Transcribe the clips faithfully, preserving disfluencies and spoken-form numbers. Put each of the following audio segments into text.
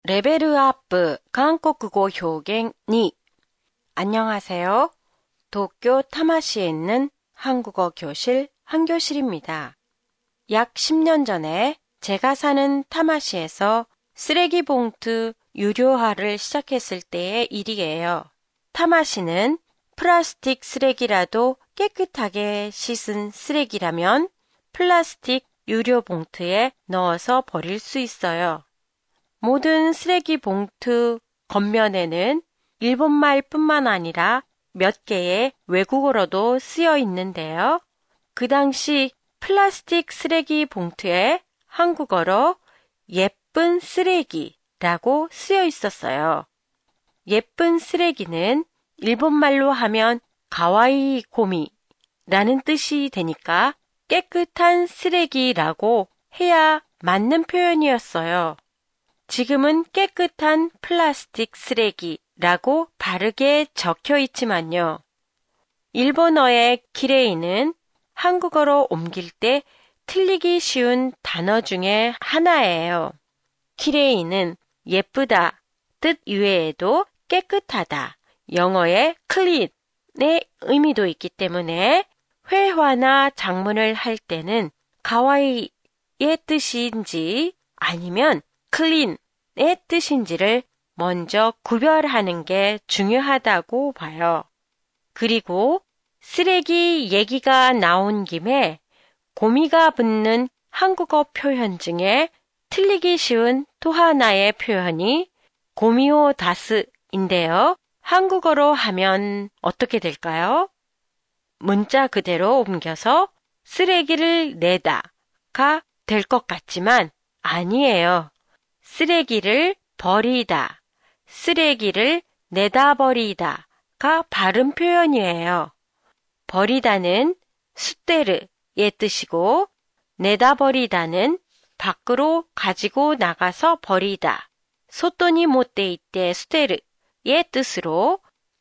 레벨업 한국어 표현 이. 안녕하세요. 도쿄 타마시에 있는 한국어 교실 한교실입니다. 약 십 년 전에 제가 사는 타마시에서 쓰레기 봉투 유료화를 시작했을 때의 일이에요. 타마시는 플라스틱 쓰레기라도 깨끗하게 씻은 쓰레기라면 플라스틱 유료 봉투에 넣어서 버릴 수 있어요. 모든 쓰레기 봉투 겉면에는 일본말 뿐만 아니라 몇 개의 외국어로도 쓰여 있는데요. 그 당시 플라스틱 쓰레기 봉투에 한국어로 예쁜 쓰레기라고 쓰여 있었어요. 예쁜 쓰레기는 일본말로 하면 가와이 고미라는 뜻이 되니까 깨끗한 쓰레기라고 해야 맞는 표현이었어요. 지금은 깨끗한 플라스틱 쓰레기라고 바르게 적혀 있지만요. 일본어의 키레이는 한국어로 옮길 때 틀리기 쉬운 단어 중에 하나예요. 키레이는 예쁘다 뜻 이외에도 깨끗하다, 영어의 clean의 의미도 있기 때문에 회화나 작문을 할 때는 가와이의 뜻인지 아니면 clean의 뜻인지를 먼저 구별하는 게 중요하다고 봐요. 그리고 쓰레기 얘기가 나온 김에 고미가 붙는 한국어 표현 중에 틀리기 쉬운 또 하나의 표현이 고미오 다스인데요. 한국어로 하면 어떻게 될까요? 문자 그대로 옮겨서 쓰레기를 내다가 될 것 같지만 아니에요. 쓰레기를 버리다, 쓰레기를 내다 버리다가 바른 표현이에요. 버리다는 수테르의 뜻이고 내다 버리다는 밖으로 가지고 나가서 버리다, 소토니 모테 이때 수테르의 뜻으로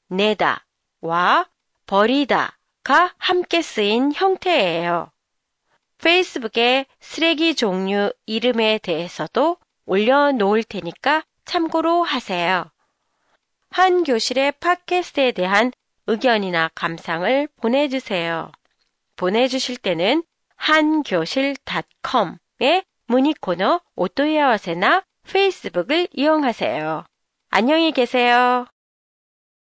내다와 버리다가 함께 쓰인 형태예요. 페이스북에 쓰레기 종류 이름에 대해서도 올려놓을 테니까 참고로 하세요. 한 교실의 팟캐스트에 대한 의견이나 감상을 보내주세요. 보내주실 때는 한교실 닷컴의 문의 코너 오토야와세나 페이스북을 이용하세요. 안녕히 계세요.